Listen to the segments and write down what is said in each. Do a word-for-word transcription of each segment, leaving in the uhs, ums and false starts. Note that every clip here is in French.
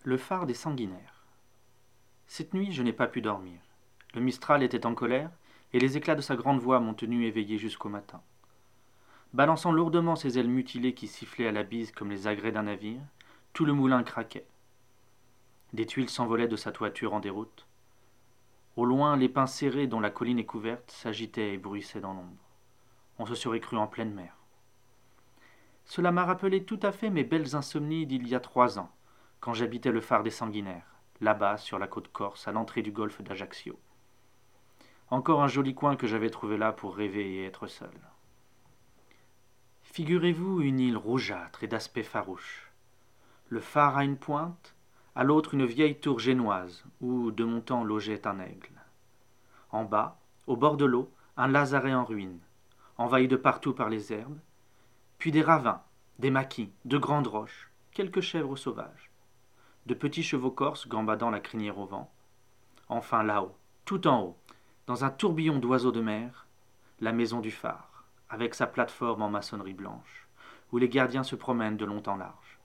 Le phare des sanguinaires. Cette nuit, je n'ai pas pu dormir. Le Mistral était en colère, et les éclats de sa grande voix m'ont tenu éveillé jusqu'au matin. Balançant lourdement ses ailes mutilées qui sifflaient à la bise comme les agrès d'un navire, tout le moulin craquait. Des tuiles s'envolaient de sa toiture en déroute. Au loin, les pins serrés dont la colline est couverte s'agitaient et bruissaient dans l'ombre. On se serait cru en pleine mer. Cela m'a rappelé tout à fait mes belles insomnies d'il y a trois ans, quand j'habitais le phare des sanguinaires, là-bas sur la côte corse, à l'entrée du golfe d'Ajaccio. Encore un joli coin que j'avais trouvé là pour rêver et être seul. Figurez-vous une île rougeâtre et d'aspect farouche. Le phare a une pointe, à l'autre une vieille tour génoise, où de mon temps logeait un aigle. En bas, au bord de l'eau, un lazaret en ruine, envahi de partout par les herbes, puis des ravins, des maquis, de grandes roches, quelques chèvres sauvages, de petits chevaux corses gambadant la crinière au vent. Enfin là-haut, tout en haut, dans un tourbillon d'oiseaux de mer, la maison du phare, avec sa plateforme en maçonnerie blanche, où les gardiens se promènent de long en large.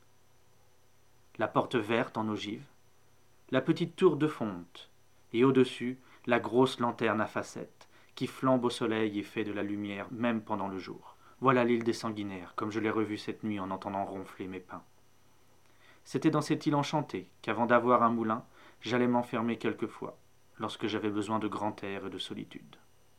La porte verte en ogive, la petite tour de fonte, et au-dessus, la grosse lanterne à facettes, qui flambe au soleil et fait de la lumière même pendant le jour. Voilà l'île des sanguinaires, comme je l'ai revue cette nuit en entendant ronfler mes pins. C'était dans cette île enchantée qu'avant d'avoir un moulin, j'allais m'enfermer quelquefois, lorsque j'avais besoin de grand air et de solitude.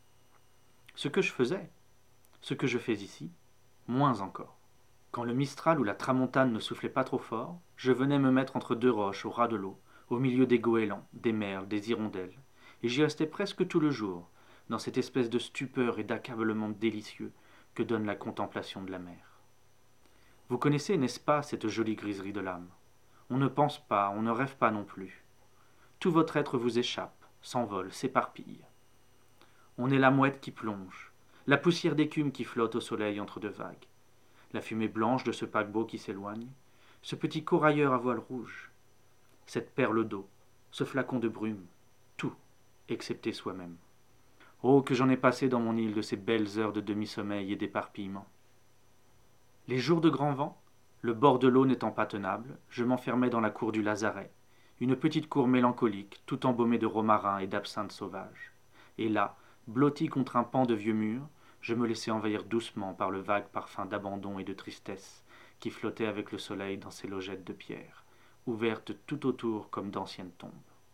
Ce que je faisais, ce que je fais ici, moins encore. Quand le Mistral ou la Tramontane ne soufflait pas trop fort, je venais me mettre entre deux roches au ras de l'eau, au milieu des goélands, des merles, des hirondelles, et j'y restais presque tout le jour, dans cette espèce de stupeur et d'accablement délicieux que donne la contemplation de la mer. Vous connaissez, n'est-ce pas, cette jolie griserie de l'âme? On ne pense pas, on ne rêve pas non plus. Tout votre être vous échappe, s'envole, s'éparpille. On est la mouette qui plonge, la poussière d'écume qui flotte au soleil entre deux vagues, la fumée blanche de ce paquebot qui s'éloigne, ce petit corailleur à voile rouge, cette perle d'eau, ce flacon de brume, tout, excepté soi-même. Oh, que j'en ai passé dans mon île de ces belles heures de demi-sommeil et d'éparpillement. Les jours de grand vent, le bord de l'eau n'étant pas tenable, je m'enfermais dans la cour du lazaret, une petite cour mélancolique, tout embaumée de romarin et d'absinthe sauvage. Et là, blotti contre un pan de vieux mur, je me laissais envahir doucement par le vague parfum d'abandon et de tristesse qui flottait avec le soleil dans ces logettes de pierre, ouvertes tout autour comme d'anciennes tombes.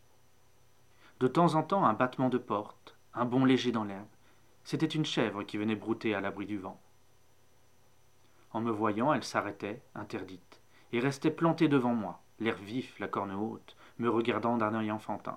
De temps en temps, un battement de porte, un bond léger dans l'herbe, c'était une chèvre qui venait brouter à l'abri du vent. En me voyant, elle s'arrêtait, interdite, et restait plantée devant moi, l'air vif, la corne haute, me regardant d'un œil enfantin.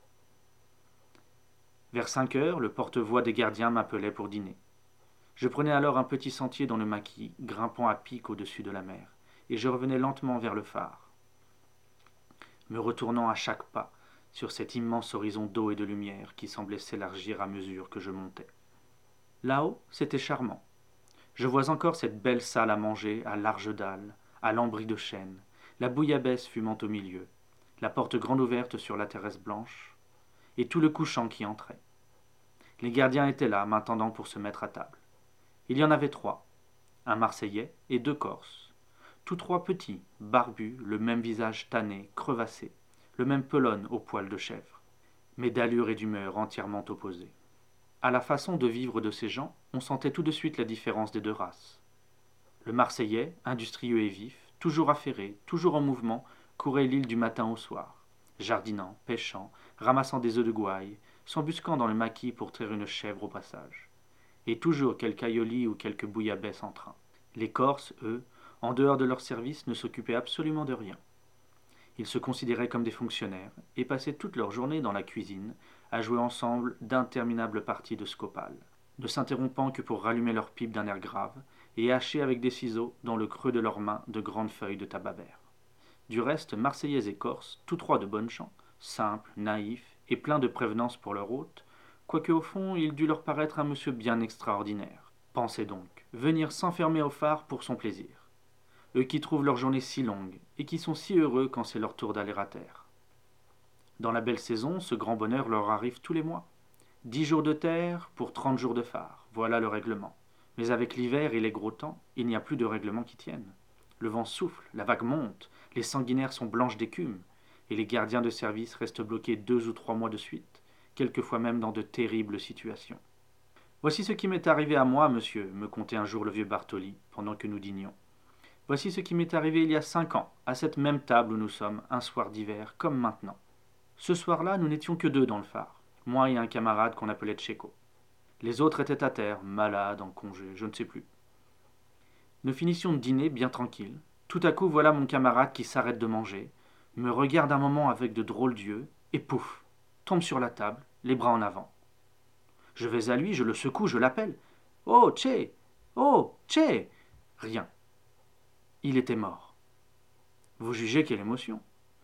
Vers cinq heures, le porte-voix des gardiens m'appelait pour dîner. Je prenais alors un petit sentier dans le maquis, grimpant à pic au-dessus de la mer, et je revenais lentement vers le phare, me retournant à chaque pas sur cet immense horizon d'eau et de lumière qui semblait s'élargir à mesure que je montais. Là-haut, c'était charmant. Je vois encore cette belle salle à manger, à larges dalles, à lambris de chêne, la bouillabaisse fumant au milieu, la porte grande ouverte sur la terrasse blanche, et tout le couchant qui entrait. Les gardiens étaient là, m'attendant pour se mettre à table. Il y en avait trois, un Marseillais et deux Corses, tous trois petits, barbus, le même visage tanné, crevassé, le même pelone au poil de chèvre, mais d'allure et d'humeur entièrement opposées. À la façon de vivre de ces gens, on sentait tout de suite la différence des deux races. Le Marseillais, industrieux et vif, toujours affairé, toujours en mouvement, courait l'île du matin au soir, jardinant, pêchant, ramassant des œufs de gouaille, s'embusquant dans le maquis pour traire une chèvre au passage, et toujours quelque aïoli ou quelque bouillabaisse en train. Les Corses, eux, en dehors de leur service, ne s'occupaient absolument de rien. Ils se considéraient comme des fonctionnaires et passaient toute leur journée dans la cuisine à jouer ensemble d'interminables parties de scopal, ne s'interrompant que pour rallumer leur pipe d'un air grave et hacher avec des ciseaux dans le creux de leurs mains de grandes feuilles de tabac vert. Du reste, Marseillais et Corses, tous trois de bonne chant, simples, naïfs et pleins de prévenance pour leur hôte, quoique au fond il dût leur paraître un monsieur bien extraordinaire. Pensez donc, venir s'enfermer au phare pour son plaisir. Eux qui trouvent leur journée si longue, et qui sont si heureux quand c'est leur tour d'aller à terre. Dans la belle saison, ce grand bonheur leur arrive tous les mois. Dix jours de terre pour trente jours de phare, voilà le règlement. Mais avec l'hiver et les gros temps, il n'y a plus de règlement qui tienne. Le vent souffle, la vague monte, Les sanguinaires sont blanches d'écume, et les gardiens de service restent bloqués deux ou trois mois de suite, quelquefois même dans de terribles situations. Voici ce qui m'est arrivé à moi, monsieur, me contait un jour le vieux Bartoli, pendant que nous dînions. Voici ce qui m'est arrivé il y a cinq ans, à cette même table où nous sommes, un soir d'hiver, comme maintenant. Ce soir-là, nous n'étions que deux dans le phare, moi et un camarade qu'on appelait Tchéco. Les autres étaient à terre, malades, en congé, je ne sais plus. Nous finissions de dîner bien tranquilles. Tout à coup, voilà mon camarade qui s'arrête de manger, me regarde un moment avec de drôles d'yeux, et pouf, tombe sur la table, les bras en avant. Je vais à lui, je le secoue, je l'appelle. Oh, Tché! Oh, Tché! Rien. Il était mort. Vous jugez quelle émotion.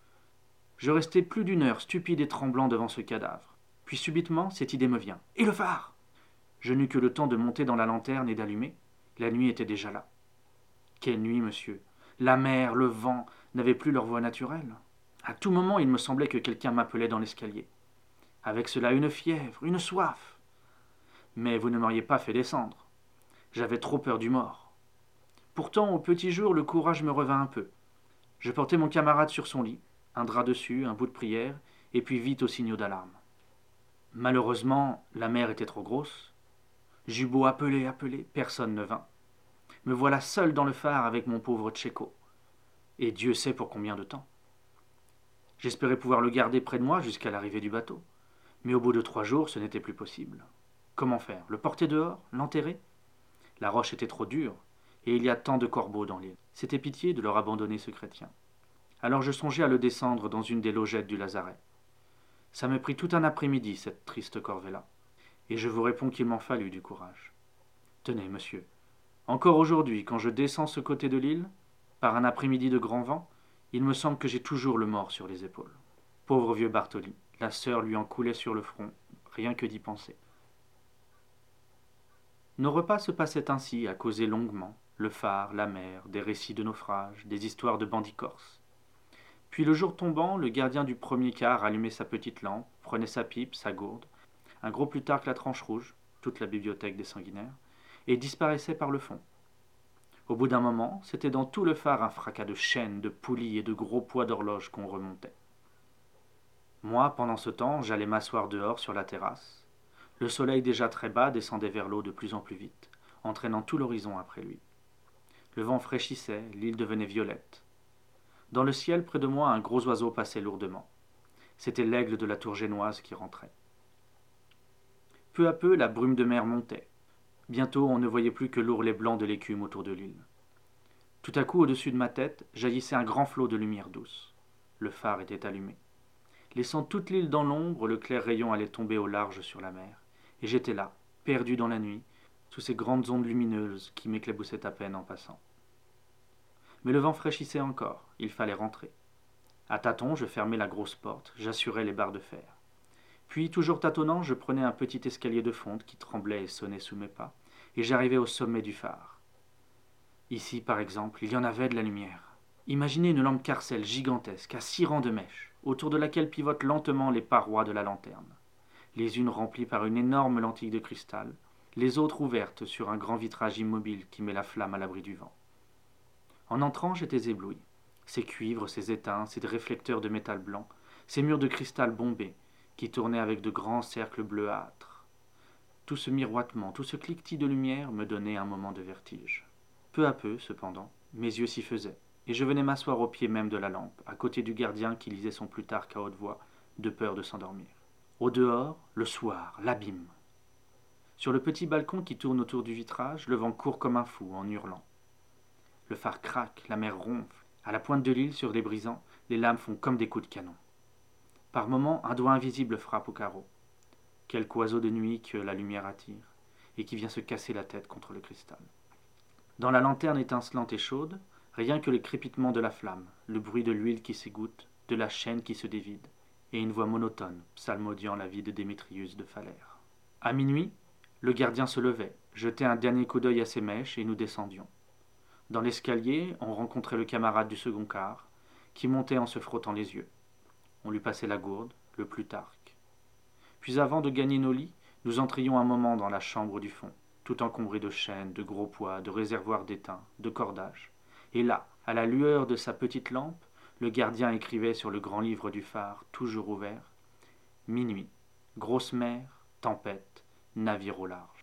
Je restai plus d'une heure stupide et tremblant devant ce cadavre. Puis subitement, cette idée me vient. Et le phare! Je n'eus que le temps de monter dans la lanterne et d'allumer. La nuit était déjà là. Quelle nuit, monsieur! La mer, le vent n'avaient plus leur voix naturelle. À tout moment, il me semblait que quelqu'un m'appelait dans l'escalier. Avec cela, une fièvre, une soif. Mais vous ne m'auriez pas fait descendre. J'avais trop peur du mort. Pourtant, au petit jour, le courage me revint un peu. Je portai mon camarade sur son lit, un drap dessus, un bout de prière, et puis vite aux signaux d'alarme. Malheureusement, la mer était trop grosse. J'eus beau appeler, appeler, personne ne vint. Me voilà seul dans le phare avec mon pauvre Tchéco. Et Dieu sait pour combien de temps. J'espérais pouvoir le garder près de moi jusqu'à l'arrivée du bateau. Mais au bout de trois jours, ce n'était plus possible. Comment faire? Le porter dehors? L'enterrer? La roche était trop dure, et il y a tant de corbeaux dans l'île. C'était pitié de leur abandonner ce chrétien. Alors je songeais à le descendre dans une des logettes du lazaret. Ça me prit tout un après-midi, cette triste corvée-là. Et je vous réponds qu'il m'en fallut du courage. Tenez, monsieur, encore aujourd'hui, quand je descends ce côté de l'île, par un après-midi de grand vent, il me semble que j'ai toujours le mort sur les épaules. Pauvre vieux Bartoli, la sœur lui en coulait sur le front, rien que d'y penser. Nos repas se passaient ainsi, à causer longuement, le phare, la mer, des récits de naufrages, des histoires de bandits corses. Puis le jour tombant, le gardien du premier quart allumait sa petite lampe, prenait sa pipe, sa gourde, un gros Plutarque la tranche rouge, toute la bibliothèque des sanguinaires, et disparaissait par le fond. Au bout d'un moment, c'était dans tout le phare un fracas de chaînes, de poulies et de gros poids d'horloge qu'on remontait. Moi, pendant ce temps, j'allais m'asseoir dehors sur la terrasse. Le soleil déjà très bas descendait vers l'eau de plus en plus vite, entraînant tout l'horizon après lui. Le vent fraîchissait, l'île devenait violette. Dans le ciel, près de moi, un gros oiseau passait lourdement. C'était l'aigle de la tour génoise qui rentrait. Peu à peu, la brume de mer montait. Bientôt, on ne voyait plus que l'ourlet blanc de l'écume autour de l'île. Tout à coup, au-dessus de ma tête, jaillissait un grand flot de lumière douce. Le phare était allumé. Laissant toute l'île dans l'ombre, le clair rayon allait tomber au large sur la mer. Et j'étais là, perdu dans la nuit, sous ces grandes ondes lumineuses qui m'éclaboussaient à peine en passant. Mais le vent fraîchissait encore, il fallait rentrer. À tâtons, je fermai la grosse porte, j'assurai les barres de fer. Puis, toujours tâtonnant, je prenais un petit escalier de fonte qui tremblait et sonnait sous mes pas, et j'arrivai au sommet du phare. Ici, par exemple, il y en avait de la lumière. Imaginez une lampe carcelle gigantesque, à six rangs de mèches, autour de laquelle pivotent lentement les parois de la lanterne, les unes remplies par une énorme lentille de cristal, les autres ouvertes sur un grand vitrage immobile qui met la flamme à l'abri du vent. En entrant, j'étais ébloui. Ces cuivres, ces étains, ces réflecteurs de métal blanc, ces murs de cristal bombé, qui tournaient avec de grands cercles bleuâtres. Tout ce miroitement, tout ce cliquetis de lumière me donnait un moment de vertige. Peu à peu, cependant, mes yeux s'y faisaient, et je venais m'asseoir au pied même de la lampe, à côté du gardien qui lisait son Plutarque à haute voix, de peur de s'endormir. Au dehors, le soir, l'abîme. Sur le petit balcon qui tourne autour du vitrage, le vent court comme un fou, en hurlant. Le phare craque, la mer ronfle. À la pointe de l'île, sur les brisants, les lames font comme des coups de canon. Par moments, un doigt invisible frappe au carreau. Quelque oiseau de nuit que la lumière attire, et qui vient se casser la tête contre le cristal. Dans la lanterne étincelante et chaude, rien que le crépitement de la flamme, le bruit de l'huile qui s'égoutte, de la chaîne qui se dévide, et une voix monotone, psalmodiant la vie de Démétrius de Phalère. À minuit, le gardien se levait, jetait un dernier coup d'œil à ses mèches, et nous descendions. Dans l'escalier, on rencontrait le camarade du second quart, qui montait en se frottant les yeux. On lui passait la gourde, le Plutarque. Puis avant de gagner nos lits, nous entrions un moment dans la chambre du fond, tout encombrée de chaînes, de gros poids, de réservoirs d'étain, de cordages. Et là, à la lueur de sa petite lampe, Le gardien écrivait sur le grand livre du phare, toujours ouvert. Minuit, grosse mer, tempête, navire au large.